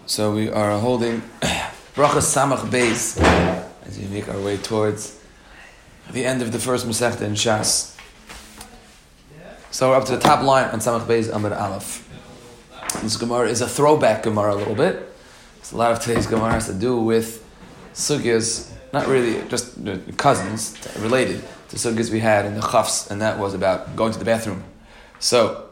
So we are holding Brachas Samach Beis as we make our way towards the end of the first Masechta in Shas. So we're up to the top line on Samach Beis Amud Aleph. This Gemara is a throwback Gemara a little bit. So a lot of today's Gemara has to do with sugyas, not really just cousins, related to sugyas we had in the Chafs, and that was about going to the bathroom. So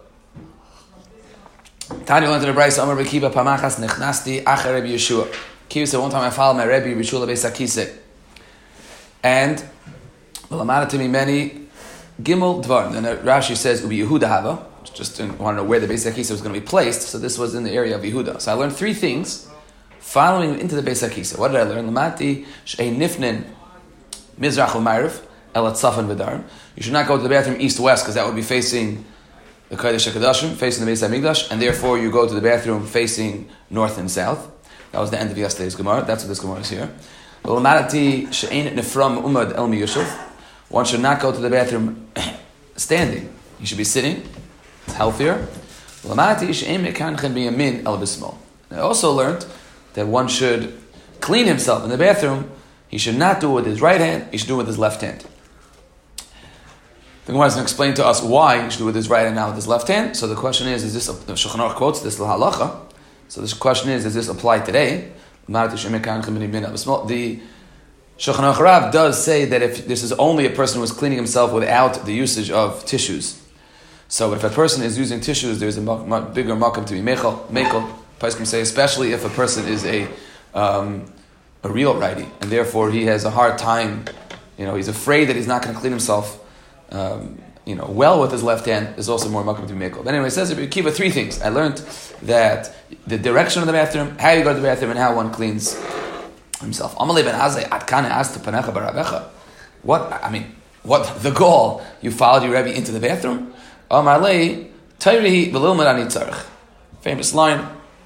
Tanya went to the Brayso, Amar Rekiva Pamachas Nechnasti Acher Rebbe Yeshua. Kiva said, one time I followed my Rebbe Yeshua Beis HaKisei. And L'amada to me many Gimel Dvar. And Rashi says Ubi Yehuda Hava. Just want to know where the Beis HaKisei was going to be placed. So this was in the area of Yehuda. So I learned three things following into the Beis HaKisei. What did I learn? L'mati Sh'ei Nifnin Mizrach U'Ma'ariv Elat Tzafan V'Darim. You should not go to the bathroom east-west because that would be facing the Kodesh HaKadoshim, facing the Beis HaMikdash, and therefore you go to the bathroom facing north and south. That was the end of yesterday's Gemara. That's what this Gemara is here. One should not go to the bathroom standing. You should be sitting. It's healthier. I also learned that one should clean himself in the bathroom. He should not do it with his right hand. He should do it with his left hand. The Gemara is going to explain to us why he should do it with his right hand, not with his left hand. So the question is this, the Shulchan Aruch quotes this halacha. So the question is, does this apply today? The Shulchan Aruch Rav does say that if this is only a person who is cleaning himself without the usage of tissues. So if a person is using tissues, there's a bigger makam to be mekel. Pesachim say, especially if a person is a real righty, and therefore he has a hard time, he's afraid that he's not going to clean himself well with his left hand, is also more makam to be mekel. But anyway, it says Kiva three things. I learned that the direction of the bathroom, how you go to the bathroom, and how one cleans himself. Amalei ben Azai atkane asked to panecha barabecha. What the goal? You followed your Rebbe into the bathroom? Amalei tayrihi v'lilmad ani tzarich. Famous line.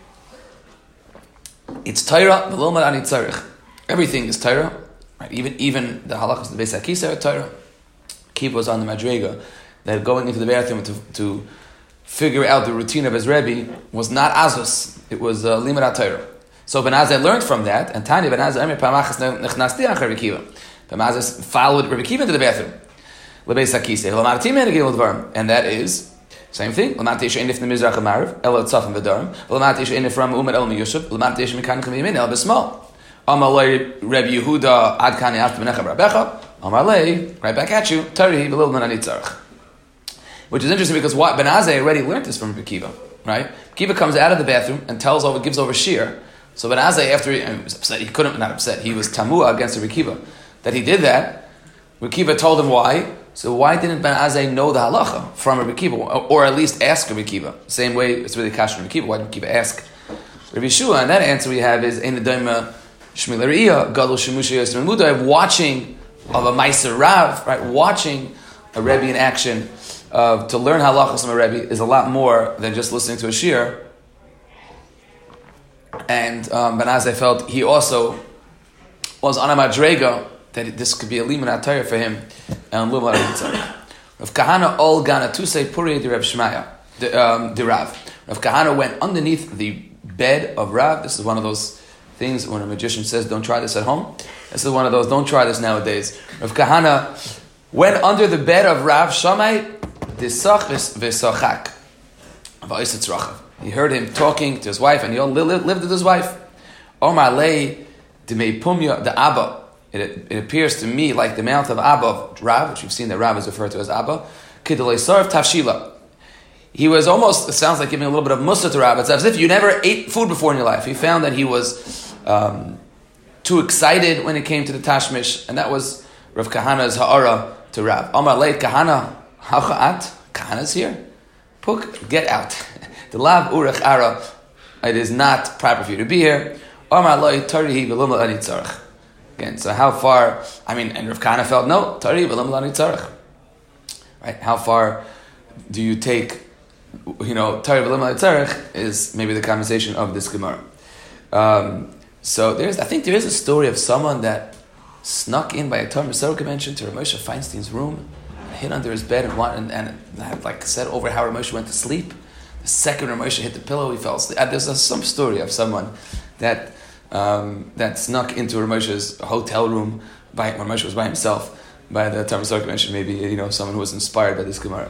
It's Torah v'lilmad ani tzarich. Everything is Torah. Right? Even the halachas of the Beis HaKisei are Torah. Kiva was on the Madrega that going into the bathroom to figure out the routine of his Rebbe was not Azus. It was Limud HaTorah. So Ben Azai learned from that, and Tanya Ben Azai Amir Pamachas Nechnasti Acher Rebbe Kiva. Ben Azai followed Rebbe Kiva into the bathroom. Lebeis HaKisei. And that is same thing. L'mati she'en nifnei Mizrach U'Ma'ariv Ela Tzafan V'Darim. L'mati she'en nifram U'Med El Miyushav. L'mati she'en Mekanech Miyamin El B'Smal. Amalei Rebbe Yehuda Ad Kani After Benecha Barabecha. Amalei, right back at you. Tarihi B'Lil Manani Tzarech. Which is interesting because Ben Azai already learned this from Rebbe Kiva, right? Kiva comes out of the bathroom and gives over shir. So Ben Azai, after he was upset, he was tamua against Rebbe Kiva that he did that. Rebbe Kiva told him why. So why didn't Ben Azai know the halacha from Rebbe Kiva, or at least ask Rebbe Kiva? Same way it's really kash from Rebbe Kiva. Why didn't Kiva ask Rebbe Yeshua? And that answer we have is in the Daima Shmuel Re'iyah Gadol Shemusha Yosem Mudav, watching of a Meiser Rav, right? Watching a Rebbe in action to learn halachas from a Rebbe is a lot more than just listening to a shir. And Ben Azai felt he also was on a madrega that this could be a limud atayr for him. And Rav Kahana ol gana tusei puri de Rav Shmaya de Rav. Rav Kahana went underneath the bed of Rav. This is one of those things when a magician says, "Don't try this at home." This is one of those. Don't try this nowadays. Rav Kahana went under the bed of Rav Shammai disach v'sachak. He heard him talking to his wife, and he lived with his wife. Omar lei demei pumya the Abba. It appears to me like the mouth of Abba of Rav, which we've seen that Rav is referred to as Abba. Kidolei sarv tavshila. He was almost, it sounds like giving a little bit of musa to Rav. It's as if you never ate food before in your life. He found that he was too excited when it came to the tashmish, and that was Rav Kahana's ha'ara to Rav. Omar lei Kahana, ha'cha'at? Kahana's here? Puk, get out. The lav urech ara, it is not proper for you to be here. Omar lei tarihi v'lum ani tzarech. Again, so how far, and Rav Kahana felt, no, tarihi v'lum ani tzarech. Right? How far do you take, tarihi v'lum ani tzarech is maybe the conversation of this Gemara. So I think there is a story of someone that snuck in by a Torah Masorah convention to Rav Moshe Feinstein's room, hid under his bed and said over how Rav Moshe went to sleep. The second Ramosha hit the pillow, he fell asleep. There's some story of someone that snuck into Ramosha's hotel room when Ramosha was by himself. By the time Sark mentioned, maybe someone who was inspired by this Gemara.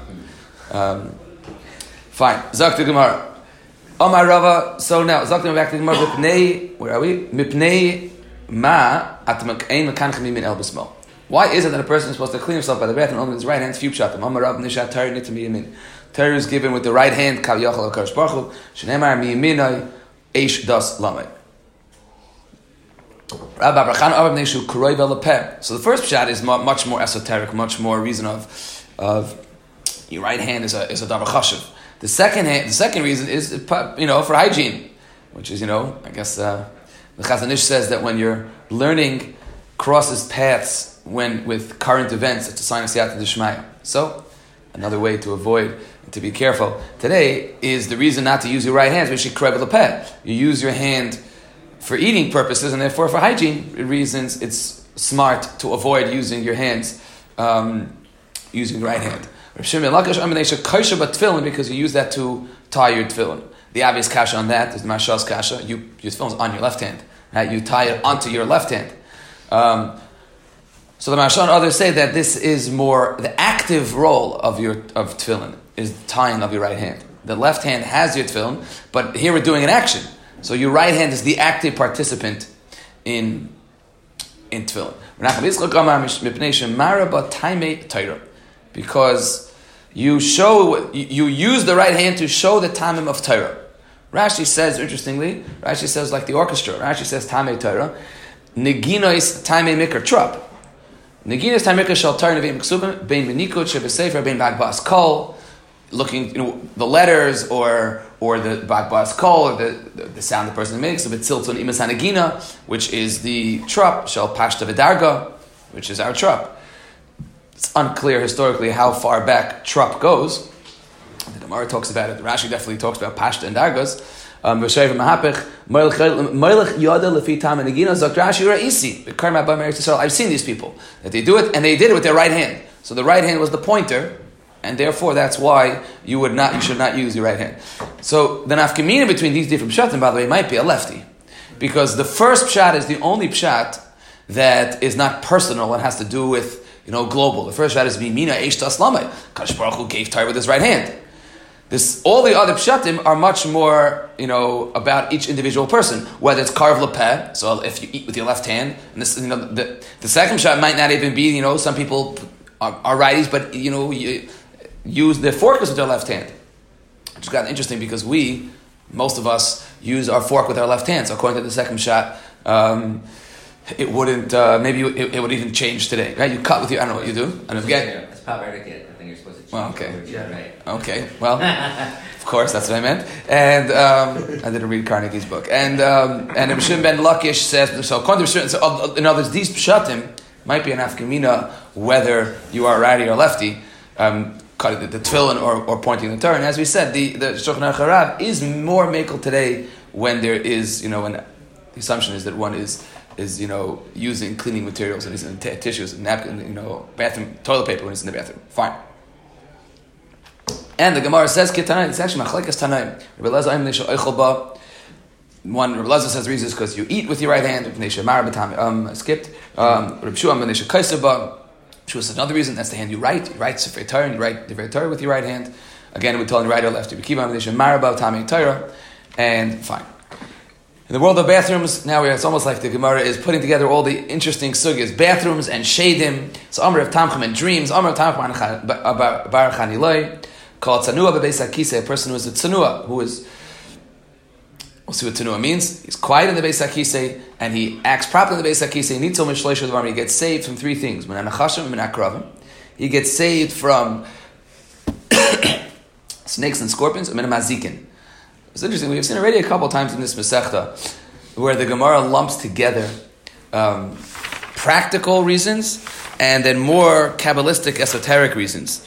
Fine. Zak the Gemara. Omar Rava. So now Zak the back to the Gemara. Mipnei. Where are we? Mipnei ma atmak'ein mekanchim min el b'smal. Why is it that a person is supposed to clean himself by the bathroom only with his right hand? Few pshatim. Omar Rav nishat Torah nitim miyamin. Torah is given with the right hand. Kav yachal HaKadosh Baruch Hu. Shneimar miyaminai eish das lamay. So the first pshat is much more esoteric, much more reason of your right hand is a davar chashuv. The second reason is for hygiene, which is I guess the Chazon Ish says that when you're learning crosses paths with current events, it's a sign of siyata d'shmaya. So another way to avoid and to be careful today is the reason not to use your right hand. You use your hand for eating purposes, and therefore for hygiene reasons, it's smart to avoid using your hands, using your right hand. Because you use that to tie your tefillin. The obvious kasha on that is the Mashal's kasha. Your tefillin is on your left hand, right? You tie it onto your left hand. So the Mashal and others say that this is more the active role of tefillin is tying of your right hand. The left hand has your tefillin, but here we're doing an action. So your right hand is the active participant in tefillin. Because you use the right hand to show the tamim of Torah. Rashi says, interestingly, like the orchestra. Rashi says tamei Torah, neginois tamei mikra trop. Neginois tamei mikra shal Torah nevi'im ksubim bein menikot shebesefer bein bagbas kol. Looking, the letters or the bagbas kol, or the sound the person makes, of it silton imas hanegina, which is the trop, shal pashta v'darga, which is our trop. It's unclear historically how far back trop goes. The Gemara talks about it. Rashi definitely talks about pashta and dargas. V'shayv mahapich moilech yoda lefi tam hanegina zok Rashi ra'isi. I've seen these people that they do it, and they did it with their right hand. So the right hand was the pointer. And therefore, that's why you should not use your right hand. So the nafkamina between these different pshatim, by the way, might be a lefty, because the first pshat is the only pshat that is not personal and has to do with global. The first pshat is mimina eish tas lamay. Kadosh Baruch Hu gave Torah with his right hand. All the other pshatim are much more about each individual person, whether it's karv lepeh, so if you eat with your left hand, and this the second pshat might not even be some people are righties, but you use their fork with their left hand. Which got interesting because most of us use our fork with our left hand. So according to the second shot, it wouldn't, maybe it would even change today, right? You cut with your, I don't know what you do. I don't forget. It's proper etiquette. I think you're supposed to change. Well, okay. Right. Okay, well, of course, that's what I meant. And I didn't read Carnegie's book. And Rishon ben Lakish says, so according to Rishon, in other words, these pshatim might be an afkamina whether you are righty or lefty, cutting the tefillin or pointing the Torah. And as we said, the Shulchan Aruch Harav is more makel today when there is, when the assumption is that one is using cleaning materials and using tissues and napkin, bathroom toilet paper when it's in the bathroom. Fine. And the Gemara says, Kitanaim, it's actually Machlekes Tanaim. Rabbi Elazar says the reason is because you eat with your right hand. Skipped. Rabbi Shua says another reason, that's the hand you write. You write Sefer Torah, and you write the Torah with your right hand. Again, we're telling you right or left. And fine. In the world of bathrooms, now it's almost like the Gemara is putting together all the interesting sugyas. Bathrooms and shadim. So Amr of Tamchim and dreams. Amr of Tamchim Bar Chaniloi. Called Tzanua Bebeis HaKisei, a person who is a Tzanua, who is, we'll see what Tzanua means. He's quiet in the Beis HaKisei, and he acts properly in the Beis HaKisei. Nitzol Mishleisha Dvarim. He gets saved from three things. He gets saved from snakes and scorpions. It's interesting. We've seen already a couple times in this Masechta where the Gemara lumps together practical reasons and then more Kabbalistic, esoteric reasons.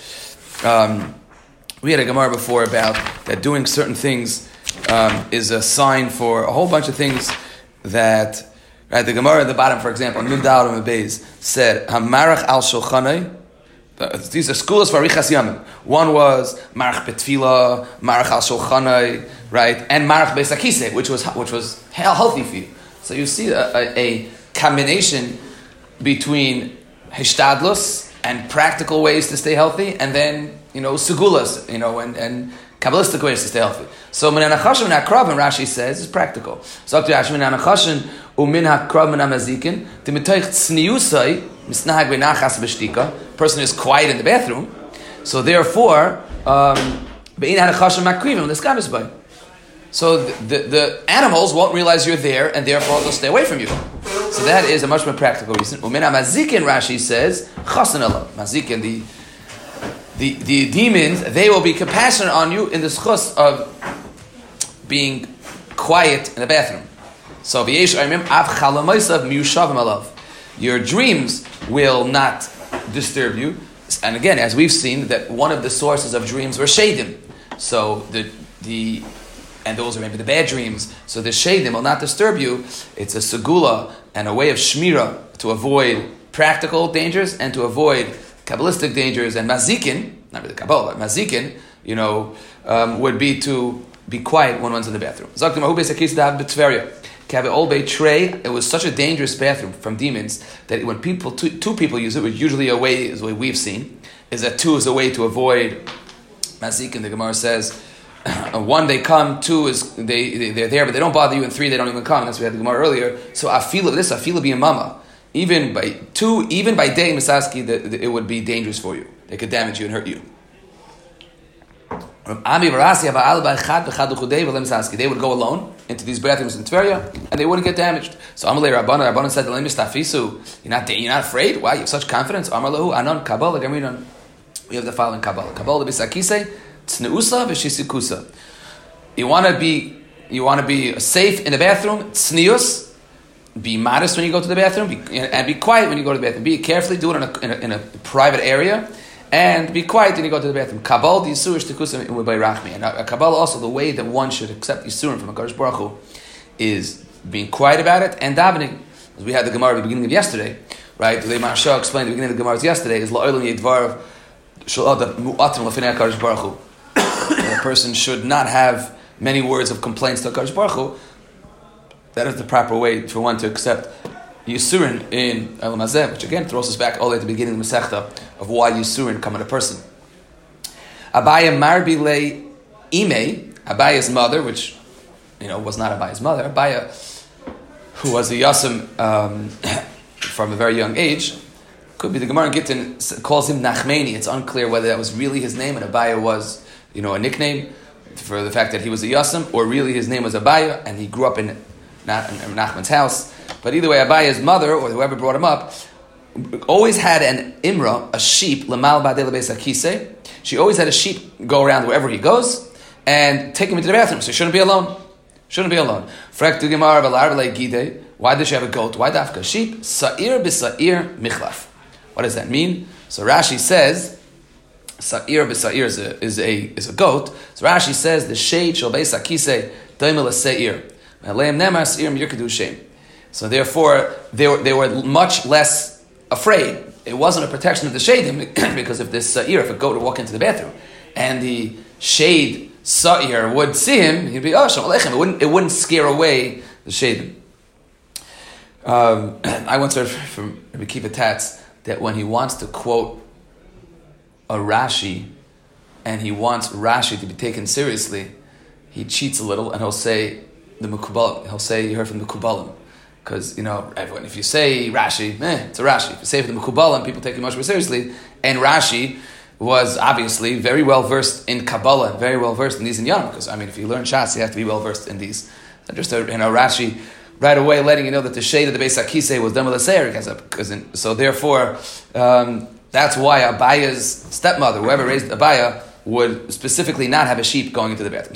We had a Gemara before about that doing certain things is a sign for a whole bunch of things that, right, the Gemara at the bottom, for example, Nun Dal and Beis said, Hamarach al Shulchanai, these are schools for Arichas Yamim. One was Marach Betfila, Marach Al Shulchanai, right, and Marach Beis HaKisei, which was healthy for you. So you see a combination between Hishtadlus and practical ways to stay healthy, and then Segulas, and Kabbalistic ways to stay healthy. So Min HaNachashim Min HaKrav, Rashi says, is practical. So Rashi Min HaNachashim Umin HaKrav Min HaMazikin Timitoich Tzniusai Misnahag Benachas B'Shtika. Person is quiet in the bathroom, so therefore Be'in HaNachashim Makrivim L'Skamis Bay. So the animals won't realize you're there, and therefore they'll stay away from you. So that is a much more practical reason. Umin HaMazikin, Rashi says, Chasan Allah. Mazikin, the demons, they will be compassionate on you in the schus of being quiet in the bathroom. So your dreams will not disturb you. And again, as we've seen, that one of the sources of dreams were shadim. So and those are maybe the bad dreams. So the shadim will not disturb you. It's a segula and a way of shmira to avoid practical dangers and to avoid Kabbalistic dangers. And mazikin, not really Kabbalah, but mazikin, would be to be quiet when one's in the bathroom. It was such a dangerous bathroom from demons that when two people use it, which usually is the way we've seen, is that two is a way to avoid mazikin. The Gemara says, one, they come, two is they're there, but they don't bother you, and three, they don't even come. That's what we had the Gemara earlier. So afila be a mama. Even by day, Misaski, it would be dangerous for you. They could damage you and hurt you. They would go alone into these bathrooms in Tveria, and they wouldn't get damaged. So Amalei Rabbanan said, you're not afraid? Why? You have such confidence? Amalahu Anon Kabbalah Gaminon. We have the following Kabbalah. Kabbalah Bisakise, Tzneusa V'Shisikusa. You want to be safe in the bathroom, Tzneus. Be modest when you go to the bathroom, and be quiet when you go to the bathroom. Be carefully, do it in a private area, and be quiet when you go to the bathroom. Kabbalah Yisurim Shtikusim U'Beirachmi. And Kabbalah also, the way that one should accept Yisurim from HaKadosh Baruch Hu is being quiet about it and davening. As we had the Gemara at the beginning of yesterday, right? The Maharsha explained at the beginning of the Gemara yesterday is La'olam Yedvar Shel Adam Mu'atim L'Finei HaKadosh Baruch Hu. A person should not have many words of complaints to HaKadosh Baruch Hu. That is the proper way for one to accept Yisurin in Elam Hazeh, which again throws us back all the way to the beginning of the Masechta of why Yisurin come in a person. Abaya Marbile Ime, Abaya's mother, which was not Abaya's mother, Abaya, who was a Yasim from a very young age, could be the Gemara in Gittin calls him Nachmeni. It's unclear whether that was really his name and Abaya was a nickname for the fact that he was a Yasim, or really his name was Abaya and he grew up in Nachman's house. But either way, Abaya's mother, or whoever brought him up, always had an imra, a sheep, Lamal Badel Beis HaKisei. She always had a sheep go around wherever he goes and take him into the bathroom. So he shouldn't be alone. Why does she have a goat? Why dafka? Sheep? Sa'ir b'sa'ir michlaf. What does that mean? So Rashi says, Sa'ir b'sa'ir is a goat. So Rashi says, the shade shall Beis HaKisei daimel l'se'ir. So therefore, they were much less afraid. It wasn't a protection of the shade, because if this sa'ir, if a goat would walk into the bathroom, and the shade sa'ir would see him, he'd be, shalom aleichem. It wouldn't scare away the shade. I once heard from Rabbi Kiva Tatz that when he wants to quote a Rashi, and he wants Rashi to be taken seriously, he cheats a little, and he'll say, he'll say, you heard from the Kubalim. Because, everyone, if you say Rashi, it's a Rashi. If you say it from the Kubalim, people take it much more seriously. And Rashi was obviously very well versed in Kabbalah, very well versed in these inyanim. Because, if you learn Shas, you have to be well versed in these. And just, Rashi right away letting you know that the shade of the Beis HaKisei was done with a seir. So therefore, that's why Abaya's stepmother, whoever raised Abaya, would specifically not have a sheep going into the bathroom.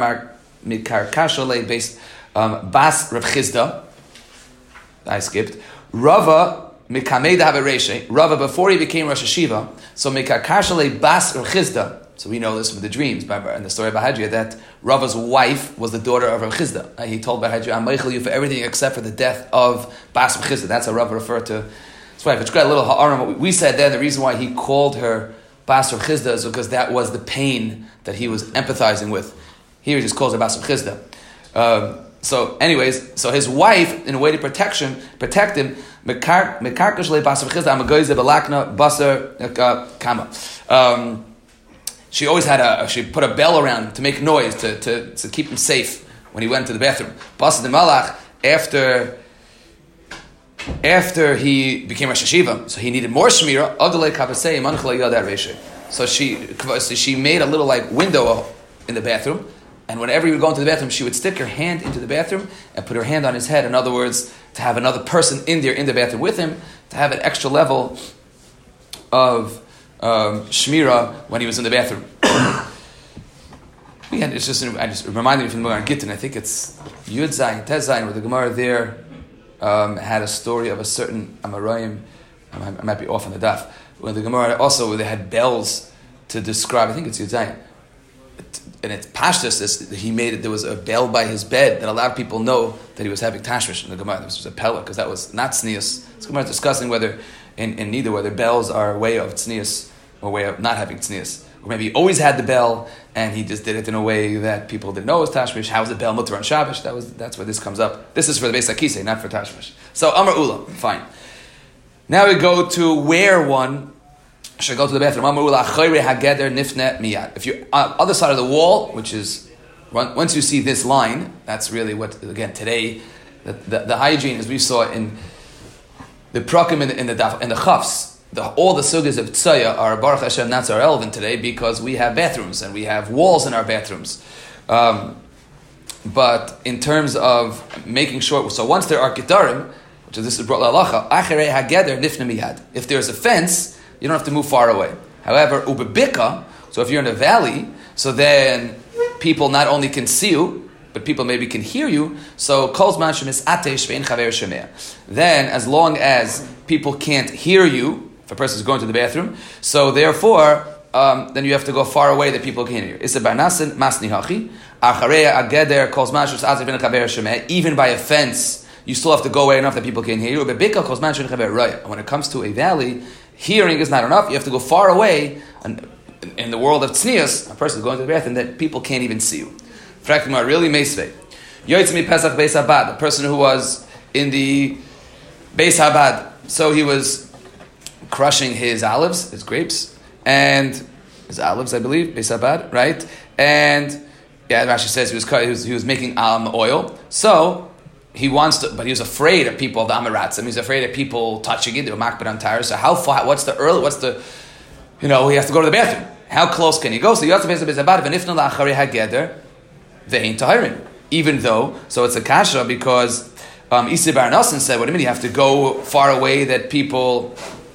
Bas Rav Chizda. I skipped. Rava Mikamei Dahave Reshe. Rava, before he became Rosh Hashiva, so Mikakashale Bas Rav Chizda. So we know this from the dreams, and the story of Bahadria, that Rava's wife was the daughter of Rav Chizda. He told Bahadria, I'm meichel you for everything except for the death of Bas Rav Chizda. That's how Rava referred to That's why if it's got a little ha'aram, we said then the reason why he called her Bas Rav Chizda is because that was the pain that he was empathizing with. Here he just calls her Bas Rav Chizda. So anyways, so his wife, in a way to protect him, she always had she put a bell around him to make noise, to keep him safe when he went to the bathroom. Basa de Malach, after he became Rosh Hashiva, so he needed more shmira. So she made a little like window in the bathroom, and whenever he would go into the bathroom, she would stick her hand into the bathroom and put her hand on his head. In other words, to have another person in the bathroom with him, to have an extra level of shmira when he was in the bathroom. Again, it's just reminded me from the Gemara Gittin. I think it's Yud Zayin, Tez Zayin, where the Gemara there had a story of a certain Amarayim. I might be off on the daf. When the Gemara also, where they had bells to describe, I think it's Yud Zayin. And it's Pashtus, he made it, there was a bell by his bed that allowed people know that he was having tashmish in the Gemara. This was a pella, because that was not tznius. This Gemara is discussing whether, in neither, whether bells are a way of tznius or a way of not having tznius. Or maybe he always had the bell, and he just did it in a way that people didn't know it was tashmish. How was the bell mutter on Shabbos? That's where this comes up. This is for the Beis HaKisei, not for tashmish. So, Amar Ula, fine. Now we go to where one should go to the bathroom. Amar Ula, Chayre Hageder Nifne Miyad. If you're on the other side of the wall, which is, once you see this line, that's really what, again, today, the hygiene, as we saw in the prakim in the chafs, all the sugas of Tzaya are Baruch Hashem not so relevant today because we have bathrooms and we have walls in our bathrooms. But in terms of making sure, so once there are Kedarim, which is this is brought la'alacha, Acharei Hageder Nifne Miyad. If there's a fence, you don't have to move far away. However, Ubebika, so if you're in a valley, so then people not only can see you, but people maybe can hear you. So then, as long as people can't hear you, if a person is going to the bathroom, so therefore, then you have to go far away that people can hear you. Even by a fence, you still have to go away enough that people can hear you. And when it comes to a valley, hearing is not enough. You have to go far away. And in the world of tznius, a person is going to the bathroom that people can't even see you. Really meisvei. The person who was in the Beis Habad, so he was crushing his olives, his grapes, and his olives, I believe, Beis Habad, right? And Rashi says he was making oil. So he wants to, but he was afraid of people, of the Amiratzim. He's afraid of people touching it. They were makbid on tires. So how far? He has to go to the bathroom. How close can he go? So you have to Beis Habad v'nifna la'acharei hageder ve'ein tahirin. Even though, so it's a kasha because Isi Bar Nosson said, what do you mean? You have to go far away that people.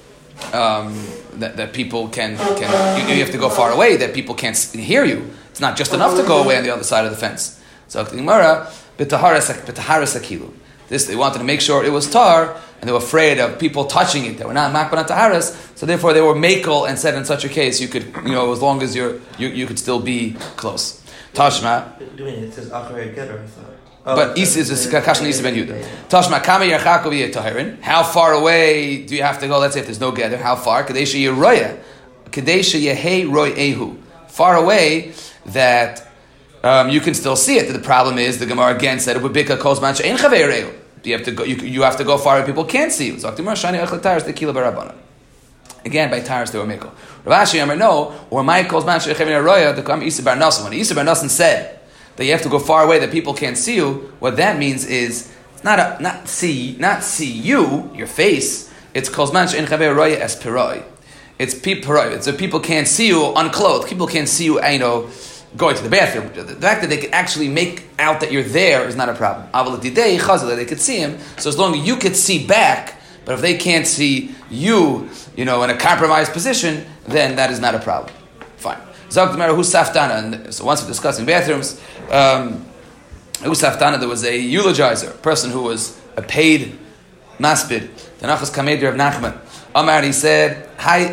That people can you have to go far away that people can't hear you. It's not just enough to go away on the other side of the fence. So the Gemara b'taharas akilu. This they wanted to make sure it was tar, and they were afraid of people touching it. They were not makban on taharas, so therefore they were makel and said in such a case you could as long as you could still be close. Tashma. It says acharei getter. I thought. But Isi is a Kashan Isi ben Yudah. Tashma kama yarchako v'yetahirin. How far away do you have to go? Let's say if there's no gather, how far? Kadesha yeroya, kadesha yehei roy ehu. Far away that you can still see it. The problem is the Gemara again said ubika kos mancha ein chaveireu. You have to go. You have to go far where people can't see you. Zaktimar shani echlet tires the kila barabana. Again, by tires they were mekel. Rav Ashi Amar no, or my kos mancha echavin roya. The kam Isi Bar Nosson. When Isi Bar Nosson said that you have to go far away that people can't see you, what that means is it's not see you, your face. It's kozman she'en chaver roya es piroi. It's so people can't see you unclothed. People can't see you, going to the bathroom. The fact that they can actually make out that you're there is not a problem. Aval didei chazal, they could see him. So as long as you could see back, but if they can't see you, in a compromised position, then that is not a problem. Fine. Zog the who's saftana. And so once we're discussing bathrooms, who's saftana, there was a eulogizer, a person who was a paid maspid. The Nachas Kameder of Nachman. Amar, he said,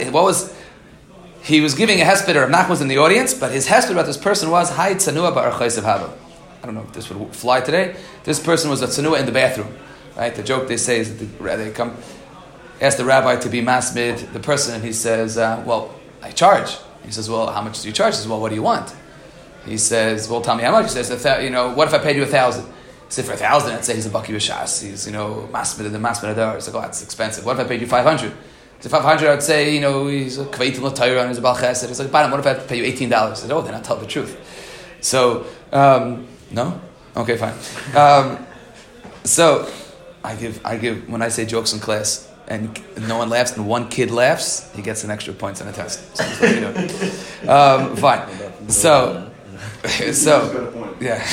he was giving a hesped of Nachman was in the audience, but his hesped about this person was, Hi Tzanua Ba'archais Haba. I don't know if this would fly today. This person was a Tzanua in the bathroom. Right? The joke they say is that they come, asked the rabbi to be masmid the person, and he says, well, I charge. He says, well, how much do you charge? He says, well, what do you want? He says, well, tell me how much. He says, what if I paid you 1,000? He said, for 1,000, I'd say he's a baki b'shas. He's, masmid the masmid adar. He's like, oh, that's expensive. What if I paid you 500? So 500, I'd say, he's a kveitim l'tayra and he's a bal chesed. He's like, what if I pay you $18? I said, oh, then I'll tell the truth. So, no? Okay, fine. So, I give, when I say jokes in class, and no one laughs, and one kid laughs, he gets an extra points on a test. So that's what you do. Fine. So, yeah.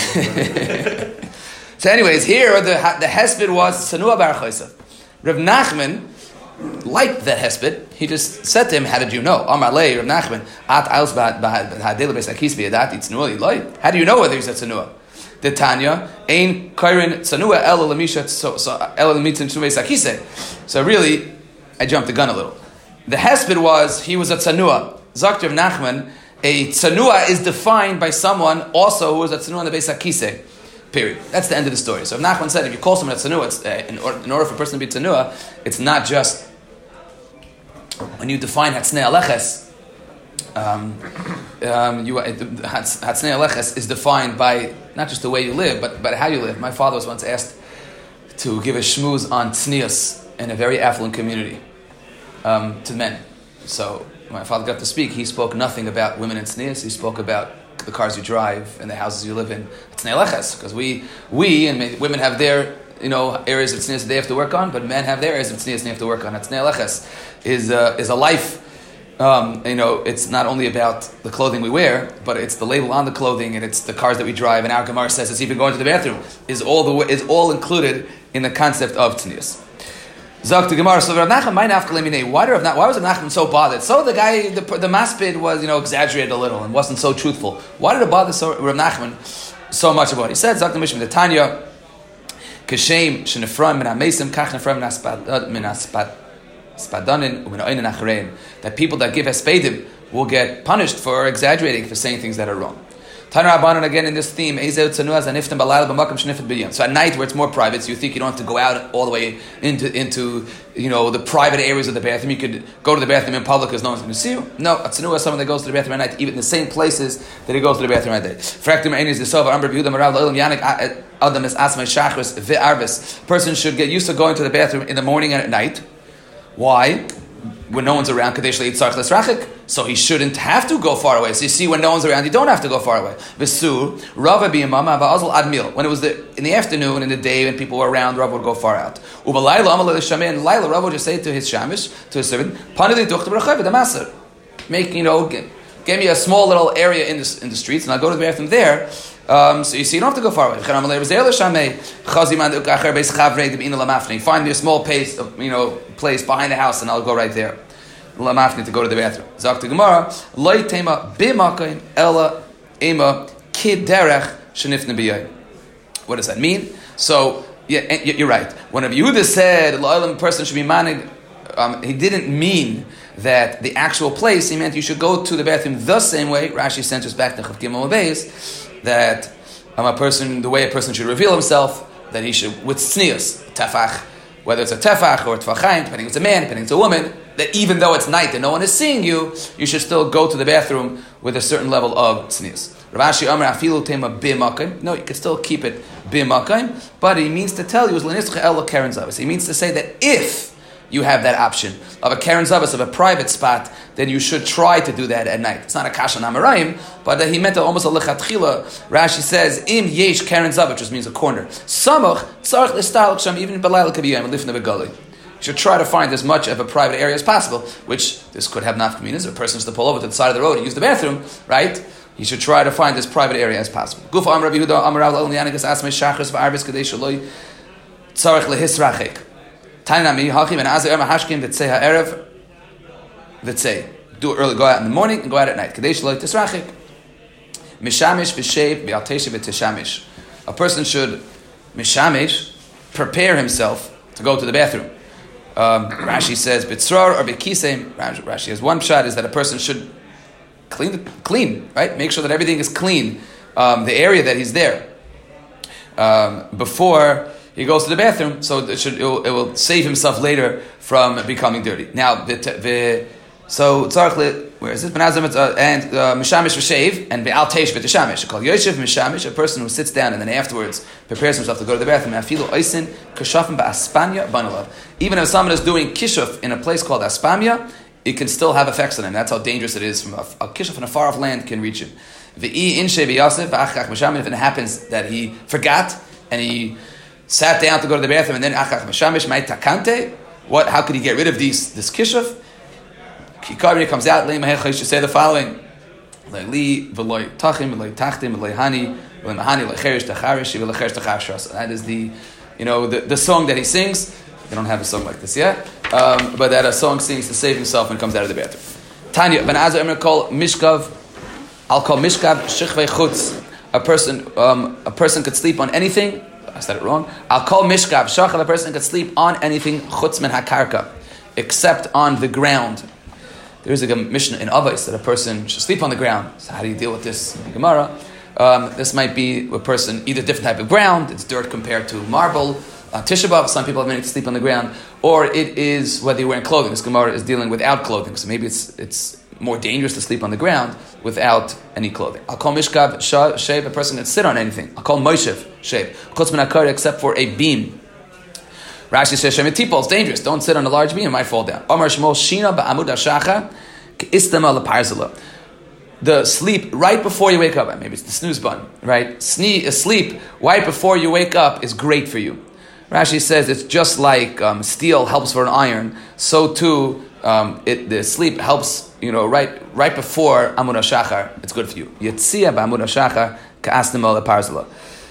So anyways, here, the hesped was Sanua bar Chosef. Rav Nachman liked that hesped. He just said to him, how did you know? Amar lei, Rav Nachman, at als b'hadele b'sakis b'yadat itznuah iloi. How do you know whether he said Sanua? The Tanya, ein kairin Sanua el l'misha el l'mitzim tznuah sakise. So really, I jumped the gun a little. The hesped was, he was a Sanua. Zakt Rav Nachman, a Sanua is defined by someone also who was a Sanua in the Beis HaKisei. Period. That's the end of the story. So if Nachman said, if you call someone a Tzanua, it's, in order for a person to be Tzanua, it's not just, when you define Hatznei Aleches, Hatznei Aleches is defined by not just the way you live, but how you live. My father was once asked to give a shmooze on tznius in a very affluent community to men. So when my father got to speak, he spoke nothing about women in tznius. He spoke about the cars you drive and the houses you live in. Tznius leches, because we and women have their areas of tznius they have to work on, but men have their areas of tznius they have to work on. Tznius leches is a life. It's not only about the clothing we wear, but it's the label on the clothing and it's the cars that we drive. And our Gemara says it's even going to the bathroom is all included in the concept of tznius. Zok to Gemara. So Rav Nachman, why was Rav Nachman so bothered? So the guy, the maspid was exaggerated a little and wasn't so truthful. Why did it bother Rav Nachman so much about it? He said, Zok to Mishmah the Tanya, Kashem shenefram min hamesim kach nefram min spadanin umin oinen acharein. That people that give espedim will get punished for exaggerating, for saying things that are wrong. Tana Rabbanan again in this theme. So at night where it's more private, so you think you don't have to go out all the way into the private areas of the bathroom. You could go to the bathroom in public because no one's going to see you. No, a tzanua is someone that goes to the bathroom at night, even in the same places that he goes to the bathroom at night. Person should get used to going to the bathroom in the morning and at night. Why? When no one's around, so he shouldn't have to go far away. So you see, when no one's around, you don't have to go far away. When it was in the afternoon, in the day, when people were around, Rav would go far out. And Laila, Rav would just say to his shamish, to his servant, give me a small little area in the streets, and I'll go to the bathroom there. So you see, you don't have to go far away. Find me a small place behind the house, and I'll go right there. Lamafni to go to the bathroom. Zak to Gemara, loy tema b'makayin ela ema kiderech shenifne b'yay. What does that mean? So, yeah, you're right. When Rabbi Yehuda said a person should be manig, he didn't mean that the actual place. He meant you should go to the bathroom the same way. Rashi sends us back to Chav Gimel Beis that the way a person should reveal himself, that he should with tznius tefach, whether it's a tefach or a tefachayim, depending if it's a man, depending if it's a woman. That even though it's night and no one is seeing you, you should still go to the bathroom with a certain level of tznius. Rav Ashi Amar afilu tema b'makayim. No, you can still keep it b'makayim, but he means to tell you is l'nischa el keren zavas. He means to say that if you have that option of a keren zavas, of a private spot, then you should try to do that at night. It's not a kasha namarayim, but he meant almost a lechatchila. Rashi says im yesh keren zavas, which just means a corner. Samach tzarich l'stalach sham even b'layla kabiyam lifnei v'gali. You should try to find as much of a private area as possible, which this could have nafkaminas. If a person is to pull over to the side of the road and use the bathroom, right? You should try to find as private area as possible. Gufa Amar Rabbi Yehuda Amar Rav Lanianikas Asmei Shachris v'Arbis Kadei Shaloi Tzarich lehisrachik. Tainami Hachim and Azay Erma Hashkim V'tzei Ha'erev V'tzei. Do it early. Go out in the morning and go out at night. Kadei Shaloi Tisrachik. Mishamish v'shev v'alteshe v'tishamish. A person should mishamish, prepare himself to go to the bathroom. Rashi says bitzrar or bekisem. Rashi has one shot is that a person should clean, right? Make sure that everything is clean. The area that he's there before he goes to the bathroom, so it will save himself later from becoming dirty. Now, so tzarich, where is it? And mishamish v'shave and be'al teish v'tishamish. Called yoshev mishamish, a person who sits down and then afterwards prepares himself to go to the bathroom. Afilu oisin kishafim ba'aspanya banalav. Even if someone is doing kishuf in a place called aspanya, it can still have effects on him. That's how dangerous it is. From a kishuf in a far off land can reach him. V'i inshe v'yasef v'achach mishamish. If it happens that he forgot and he sat down to go to the bathroom and then achach mishamish may takante. How could he get rid of this kishuf? Kikari comes out. Leimahech should say the following: Leili v'loy tachim v'loy tachtim v'loy hani v'loy mahani l'cherish t'charish v'loy cherish t'chashras. That is the song that he sings. They don't have a song like this yet, but that a song sings to save himself when he comes out of the bathroom. Tanya ben Azar Emir call mishkav. I'll call mishkav shichvei chutz. A person could sleep on anything. I said it wrong. I'll call mishkav shachav. A person could sleep on anything chutz min hakarka, except on the ground. There is a Mishnah in Avos that a person should sleep on the ground. So how do you deal with this in Gemara? This might be a person, either different type of ground, it's dirt compared to marble, Tisha B'Av, some people have made to sleep on the ground, or it is whether you're wearing clothing. This Gemara is dealing without clothing, so maybe it's more dangerous to sleep on the ground without any clothing. I'll call Mishkav Shev, a person that sit on anything. I'll call Moshev Shev, Chutz min hakar, except for a beam. Rashi says, Shemet Tipol, it's dangerous. Don't sit on a large beam, it might fall down. Amar Shmuel, Shina ba'amud ha'shacha, k'istama l'parzela. The sleep right before you wake up, maybe it's the snooze button, right? Sleep right before you wake up is great for you. Rashi says it's just like steel helps for an iron, so too the sleep helps, right before amud ha'shachar, it's good for you. Yetzia ba'amud ha'shachar, k'istama l'parzela.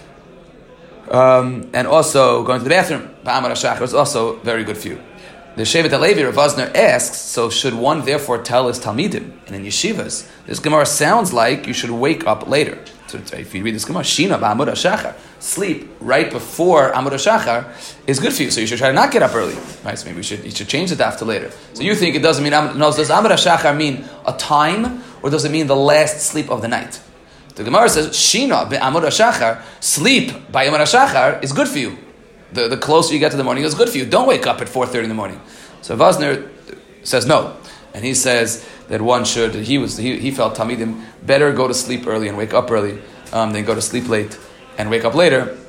And also going to the bathroom, ba'amud ha'shachar, is also very good for you. The Shevet HaLevi, Rav Vosner asks, so should one therefore tell his Talmidim, and in yeshivas, this Gemara sounds like you should wake up later. So if you read this Gemara, Shina ba'amud ha'shachar, sleep right before amud ha'shachar is good for you, so you should try to not get up early. Right? So maybe you should change the daf to later. So you think it doesn't mean, does amud ha'shachar mean a time, or does it mean the last sleep of the night? The Gemara says, Shina ba'amud ha'shachar, sleep by amud ha'shachar is good for you. The closer you get to the morning is good for you. Don't wake up at 4:30 in the morning. So Vosner says no. And he says that one should, he felt Talmidim better go to sleep early and wake up early than go to sleep late and wake up later.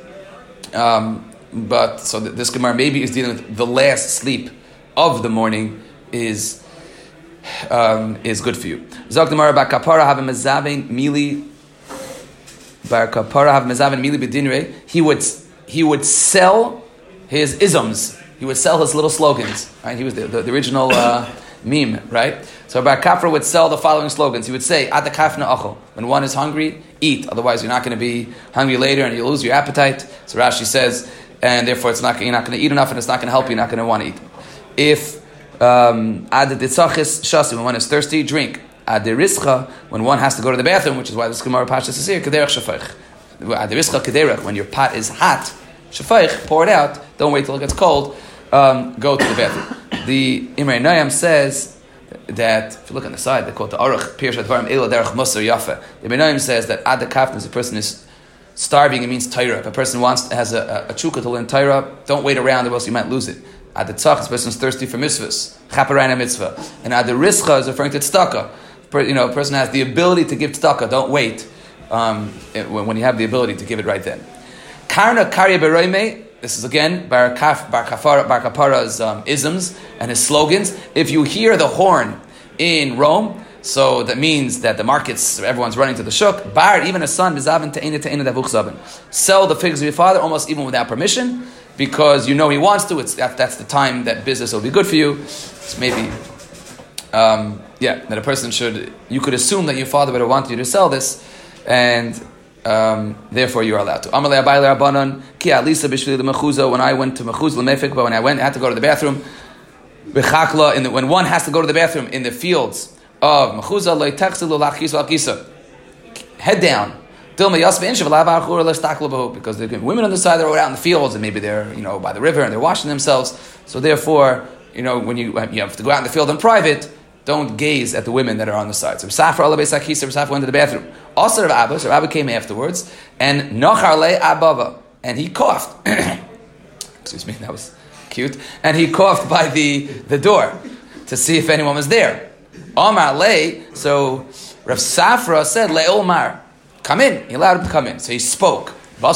But so this Gemara maybe is dealing with the last sleep of the morning is good for you. Zog Gemara bar kapara have a mezaven mili bar kapara have mezaven mili b'dinrei. He would sell his isms. He would sell his little slogans. Right? He was the original meme, right? So Bar Kafra would sell the following slogans. He would say, Ad kafna achol. When one is hungry, eat. Otherwise, you're not going to be hungry later and you'll lose your appetite. So Rashi says, and therefore you're not going to eat enough and it's not going to help you. You're not going to want to eat. If Ad ditzachis shasi, when one is thirsty, drink. Ad rischa, when one has to go to the bathroom, which is why this Gemara Pashas is here, kederech shafach. When your pot is hot, shafayich, pour it out. Don't wait till it gets cold. Go to the bathroom. The Imrei Noam says that if you look on the side, they call it the Aruch Pirshat Dvarim Ela Derech Musar Yafa. The Imrei Noam says that Ad Kafna, as a person is starving, it means Torah. If a person has a chukah to learn Torah, don't wait around, or else you might lose it. Ad Tzach, a person is thirsty for mitzvahs, Chaparayna mitzvah, and Ad Rischa is referring to tzedakah. A person has the ability to give tzedakah. Don't wait. When you have the ability to give it right then. Karna Karya Beroime, this is again Bar Kapara's isms and his slogans. If you hear the horn in Rome, so that means that the markets, everyone's running to the shuk. Bar, even a son, sell the figs of your father almost even without permission, because he wants to. That's the time that business will be good for you. So maybe, that a person you could assume that your father would have wanted you to sell this, and therefore you are allowed to. When I went to Mechuzah, but when I had to go to the bathroom, when one has to go to the bathroom in the fields of Mechuzah, head down. Because the women on the side, they're out in the fields, and maybe they're by the river and they're washing themselves. So therefore, when you have to go out in the field in private, don't gaze at the women that are on the side. So Safra went to the bathroom. Also Rav Abba came afterwards, and Nochar le Abava, and he coughed. Excuse me, that was cute. And he coughed by the door to see if anyone was there. Omar lay, so Rav Safra said, Le'olmar, come in. He allowed him to come in. So he spoke. You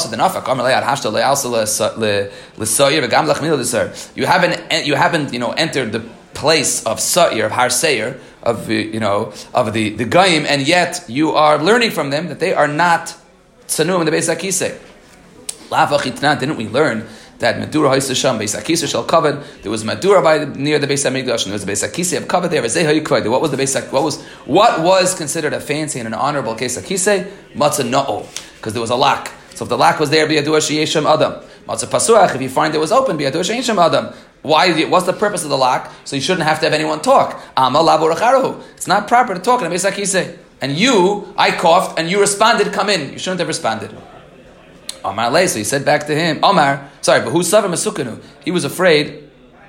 haven't, entered the place of Sa'ir, of Har Seir, of the Goyim, and yet you are learning from them that they are not Tzanuim in the Beis HaKisei. Didn't we learn that Madura Haisasham Beis HaKisei shall covered? There was Madura near the Beis HaMikdash, and there was the Beis HaKisei of covered there. What was considered a fancy and an honorable Beis HaKisei? Matzah Na'o, because there was a lock. So if the lock was there, B'yadua Sheyesham Adam. Matzah Pasuach, if you find it was open, B'yadua Sheyesham Adam. What's the purpose of the lock? So you shouldn't have to have anyone talk. It's not proper to talk in a Beis HaKisei. And I coughed, and you responded, come in. You shouldn't have responded. Omar lay, so he said back to him, but who suffered Masukanu? He was afraid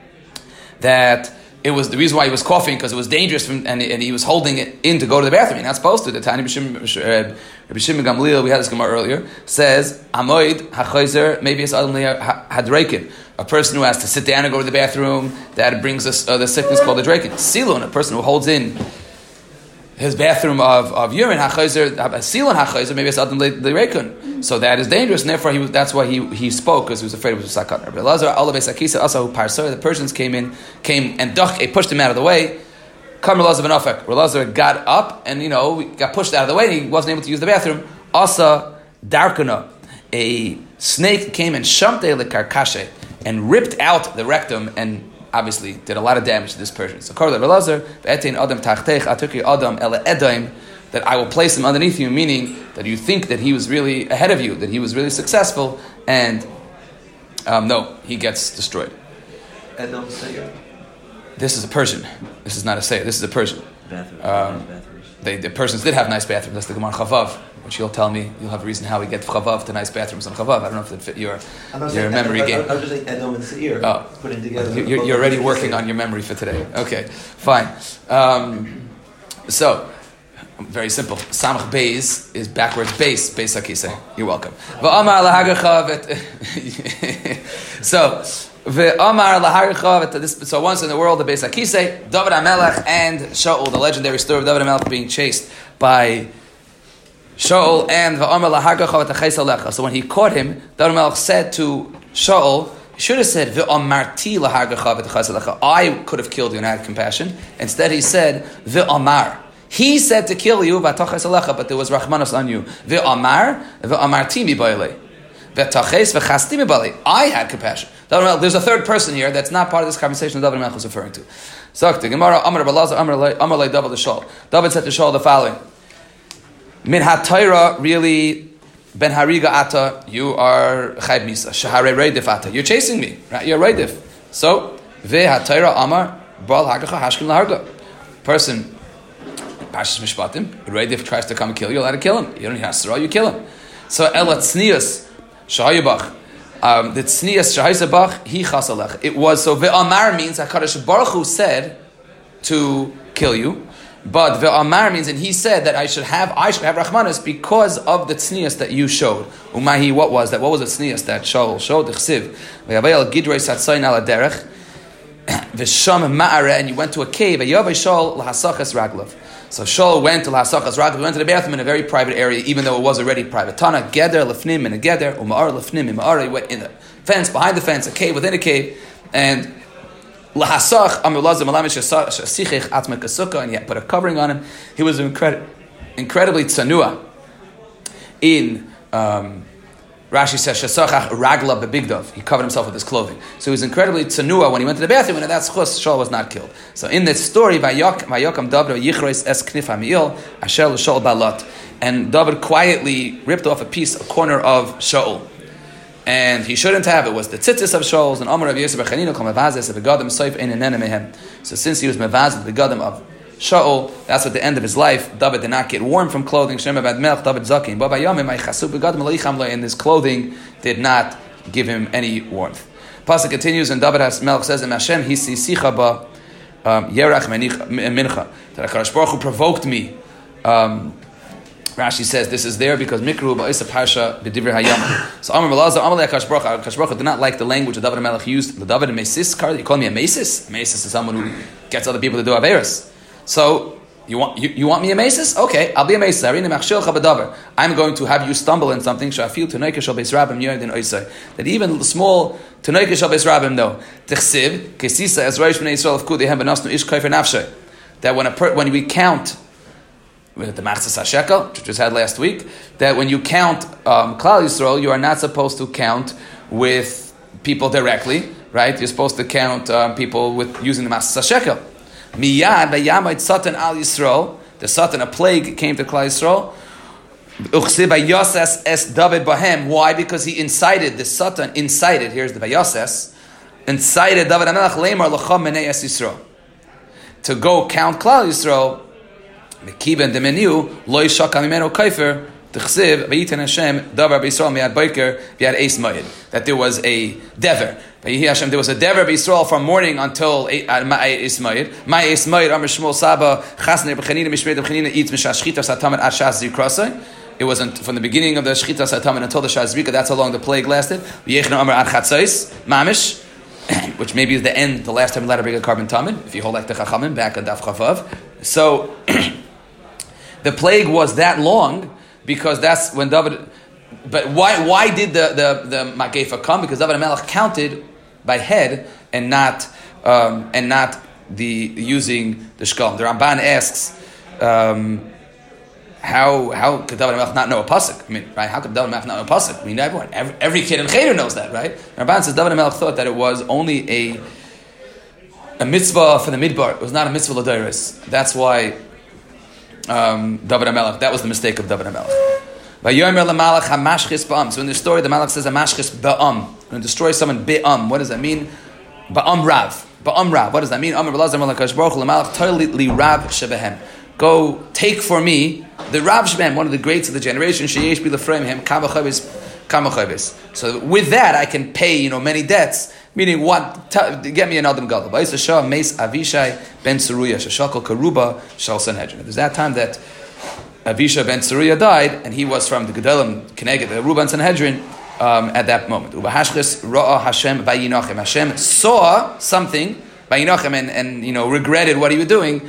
that it was the reason why he was coughing, because it was dangerous, and he was holding it in to go to the bathroom. You're not supposed to. The Tani Rabbi Shimon Gamliel, we had this Gemara earlier, says, Amoid HaChoyzer, maybe it's Adam Hadreikin, a person who has to sit down and go to the bathroom, that brings us the sickness called the Dreikin. Silon, a person who holds in his bathroom of urine, Silon HaChoyzer, maybe it's Adam Hadreikin. So that is dangerous, and therefore that's why he spoke, because he was afraid it was a sakat. Rabbi Elazar, Allah Beis HaKisei, also Parsoi, the Persians came and pushed him out of the way. Kam Elazar ben Afek. Elazar got up and got pushed out of the way, and he wasn't able to use the bathroom. Asa Darkana, a snake came and shamte lekarkashe and ripped out the rectum and obviously did a lot of damage to this Persian. So Karla Elazar, Ve'etein Adam Tachtech Atuki Adam Ele Edaim, that I will place him underneath you, meaning that you think that he was really ahead of you, that he was really successful, and no, he gets destroyed. Edom Seir. This is a Persian. This is not a Seir. This is a Persian. The Persians did have nice bathrooms. That's the Gemara Chavav, which you'll tell me. You'll have a reason how we get Chavav to nice bathrooms on Chavav. I don't know if it fit your memory game. I was just saying Edom and Seir putting together. You're already working on your memory for today. Okay, fine. So, very simple. Samach Beis is backwards Beis HaKisei. You're welcome. So once in the world of Beis HaKisei, David HaMelech and Shaul, the legendary story of David HaMelech being chased by Shaul, and so when he caught him, David HaMelech said to Shaul, he should have said, I could have killed you and had compassion. Instead he said, he said to kill you, but there was Rachmanos on you. I had compassion. There's a third person here that's not part of this conversation that David Melech was referring to. David said to Shaul the following: Min ha-Torah, really, ben hariga ata, you are chayv misa. Shahare reidif ata, you're chasing me, right? You're reidif. So, ve ha-Torah amar bal hagacha hashkim laharga. Person, Pashas Mishpatim, reidif tries to come and kill you, you're allowed to kill him. You don't have to, you kill him. So, elat tznius shahayabach. The tznius shahayabach he chasalech. It was so. Ve'amar means Hakadosh Baruch Hu said to kill you. But Ve'amar means, and he said that I should have Rachmanis because of the tznius that you showed. Umahi, what was that? What was the tznius that Shaul showed? The chsiv. Ve'avayel gidrei satzayin ala derech. V'sham ma'are, and you went to a cave. Ve'yavay Shaul lahasachas raglav. So Shaul went to lahasachas raglav. He went to the bathroom in a very private area, even though it was already private. Tana geder lefnim in a geder, umar lefnim in ma'are. He went in the fence, behind the fence, a cave within a cave, and lahasach amulazim alamish shasichich atma kasuka, and he put a covering on him. He was incredibly tzanua. In Rashi says shasachach ragla bebigdov. He covered himself with his clothing. So he was incredibly tzanua when he went to the bathroom, and that's chus. Shaul was not killed. So in this story, vayokam David yichreis es knif hamiil asher l'Shaul balat, and David quietly ripped off a corner of Shaul. And he shouldn't have. It was the tzitzis of Shaul's, and Amar of Yosef Bechanino kol mevazes of begadim soif ein enena mehem. So since he was mevazes the begadim of Shaul, that's at the end of his life. David did not get warm from clothing. Shem abad melch David zakin. Baba yamim ay chasu begadim leicham lo, and his clothing did not give him any warmth. Pasuk continues, and David Melch says, "And Hashem hisi sicha ba yerach mincha." That Hakadosh Baruch Hu provoked me Rashi says this is there because Mikru ba'isa parsha b'divrei hayam. So Amar Malazar, Amar Akash Baruch did not like the language that David HaMelech used. The David Mesis card. You call me a Mesis? Mesis is someone who gets other people to do averos. So you want me a Mesis? Okay, I'll be a Mesis. I'm going to have you stumble in something. That even small Tanoika Shal Beis Rabbim know. Tichsiv Kesisa as Reish Bnei Yisrael of Kudehem Benasnu Ish Kaifer Nafshay. That when we count with the Machzas HaShekel, which we just had last week, that when you count Klal Yisrael, you are not supposed to count with people directly, right? You're supposed to count people with using the Machzas HaShekel. Miyad v'yamayit Satan al Yisrael, the Satan, a plague came to Klal Yisrael. Uchsi v'yoses es David bahem. Why? Because he incited, the Satan incited, here's the v'yoses, incited David HaMelech leimar l'cham menei es Yisrael. To go count Klal Yisrael, Mekiben demenu loy shakal mimeno kaifer t'chsiv v'yiten Hashem davar b'Yisrael miyad boker v'yad eis moed. That there was a dever. V'yihi Hashem, there was a dever b'Yisrael from morning until ma'ay eis moed. Ma'ay eis moed Amar Shmuel Saba chasner b'chanina mishmei b'chanina eats mishashchita sataman ad shas zikrasai. It wasn't from the beginning of the shchita sataman until the shas zrika. That's how long the plague lasted. V'yechna Amar ad chatzos mamish, which maybe is the end, the last time you let her bring a carbon tamid. If you hold like the chachamim back on daf chavav. So the plague was that long because that's when David. But why did the Magefa come? Because David HaMelech counted by head and not the using the shkal. The Ramban asks, how could David HaMelech not know a pasuk? I mean, right? How could David HaMelech not know a pasuk? I mean, every kid in Cheder knows that, right? The Ramban says David HaMelech thought that it was only a mitzvah for the midbar. It was not a mitzvah l'dairis. That's why. David HaMelech, that was the mistake of David HaMelech. So in the story, the Malach says, "Hamashchis ba'am." I'm going to destroy someone be'am. What does that mean? Ba'am rav. Ba'am rav. What does that mean? Amar Belazar Malakash Baruch L'Malach Toili li Rav Shebehem. Go take for me the Rav Shebehem, one of the greats of the generation. Sheyesh bilafreim him kama chavis. So with that, I can pay many debts. Meaning what? Get me an Adam Gadol. Ba'isa Shah Meis Avishai ben Tzeruya Shashakal Karuba Shal Sanhedrin. There's that time that Avishai ben Tzeruya died, and he was from the Gedolim Keneged, the Ruba and Sanhedrin, at that moment. Ubahashchis Ra'a Hashem Vayinachem. Hashem saw something Vayinachem and regretted what he was doing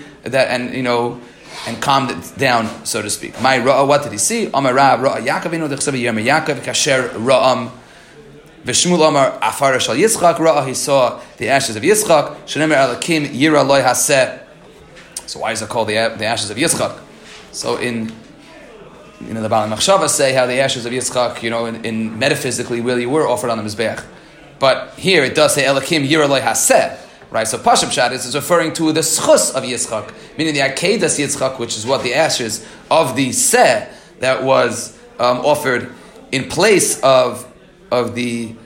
and calmed it down, so to speak. My Ra'a, what did he see? Amar Ra'a Yaakov Dechsav Yirmi Yaakov Kasher Ra'am. V'Shmuel Amar Afar Shal Yitzchak Ra'a. He saw the ashes of Yitzchak. Shenemer Elakim Yira Loy Haseh. So why is it called the ashes of Yitzchak? So in the Baal Machshava say how the ashes of Yitzchak, in metaphysically really were offered on the Mizbeach. But here it does say Elakim Yira Loy Haseh. Right, so Pashup Shad is referring to the schus of Yitzchak, meaning the Akedas Yitzchak, which is what the ashes of the Seh that was offered in place of the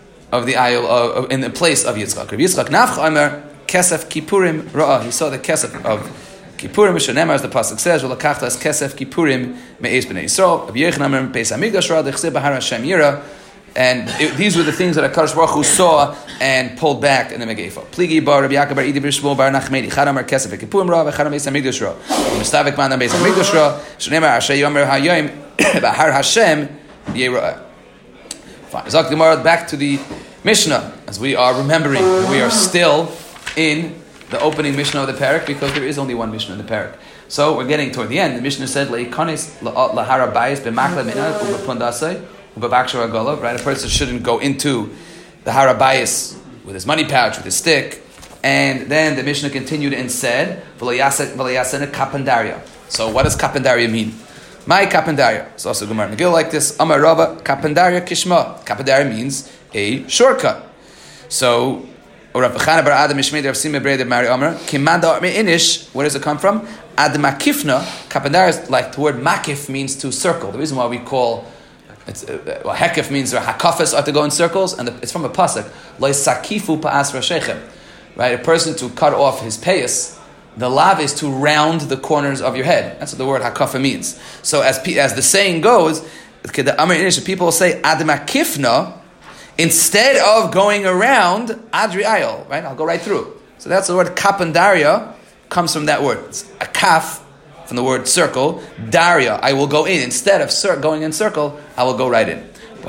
aisle in the place of Yitzchak. Rabbi Yitzchak Nafcha Omer Kesef Kippurim Ra'ah. He saw the Kesef of Kippurim, which Nemar, as the pasuk says, "V'lakachta es Kesef Kippurim me'ez b'nei Yisrael." Rabbi Yechon Omer Beis Hamikdash Ra'ah Dechseh Bahar Hashem Yira. And these were the things that HaKadosh Baruch Hu saw and pulled back in the Megefa. Pligi bar Rabbi Yaakov bar Idi bar Shmuel bar Nachmeni. Chad Omer Kesef Kippurim Ra'ah v'chad Beis Hamikdash Ra'ah. Mistavik man Beis Hamikdash Ra'ah. Shneimar Asher Yomer Hayoim Bahar Hashem Yira'ah. Fine. Zok Gemara, back to the Mishnah, as we are remembering that we are still in the opening Mishnah of the parak because there is only one Mishnah in the parak. So we're getting toward the end. The Mishnah said, "Leikanis lahara bayis b'makla minad ubepundasei ubebakshar agolav." Right, a person shouldn't go into the hara bayis with his money pouch, with his stick. And then the Mishnah continued and said, "V'layasena kapandaria." So what does kapandaria mean? My kapandaria. It's also Gemara Megillah like this. Amar Rava kapandaria kishma. Kapandaria means a shortcut. So, Rav Chana bar Adam Mishmei Rav Simei Brei Mari Amar Kimanda Inish. Where does it come from? Ad makifna. Kapandaria is like the word makif means to circle. The reason why we call hekif means hakafas are to go in circles, and it's from a pasuk. Lo sakifu pa'as rashechem. Right, a person to cut off his payas. The lav is to round the corners of your head. That's what the word hakafa means. So as the saying goes, people say adma kifna instead of going around adri ayol. Right, I'll go right through. So that's the word kapandaria comes from that word. It's a kaf from the word circle. Daria, I will go in. Instead of going in circle, I will go right in.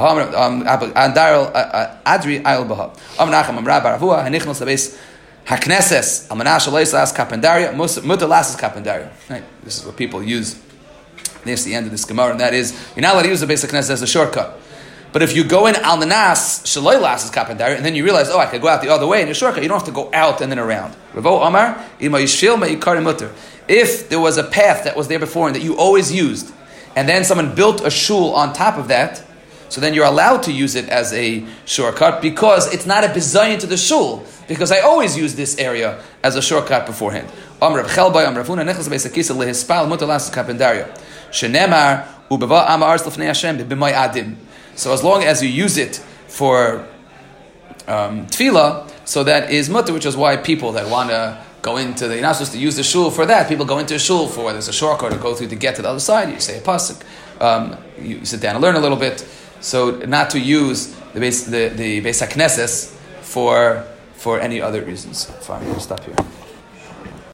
Adri, I will baha. Nacham, Amra, Baravua, Hanichnos, Labes, Hakneses, Almanash, Aleisas, Kapendaria, Mutter Lasses, Kapendaria. This is what people use. There's the end of this Gemara, and that is, you're not allowed to use the basic Knesset as a shortcut. But if you go in Al Nanas, Shaloi Lasses, Kapendaria, and then you realize, I could go out the other way in a shortcut, you don't have to go out and then around. Ravo Amar, Ima Yishfil, Me'ikari Mutter. If there was a path that was there before and that you always used, and then someone built a shul on top of that, so then you're allowed to use it as a shortcut because it's not a bizayin to the shul, because I always use this area as a shortcut beforehand. Amr Chelbay, Amr Ravuna, Nechas Beisakisa, Lehispal, Mutter Lasses Kapendaria. Shenemar, Ubava Amar Arslafnei Hashem, B'may Adim. So as long as you use it for tefillah, so that is mutter, which is why people that want to go into you're not supposed to use the shul for that. People go into a shul for, there's a shortcut to go through to get to the other side. You say a pasuk, you sit down and learn a little bit. So not to use the Beis HaKnesses for any other reasons. Fine, we'll stop here.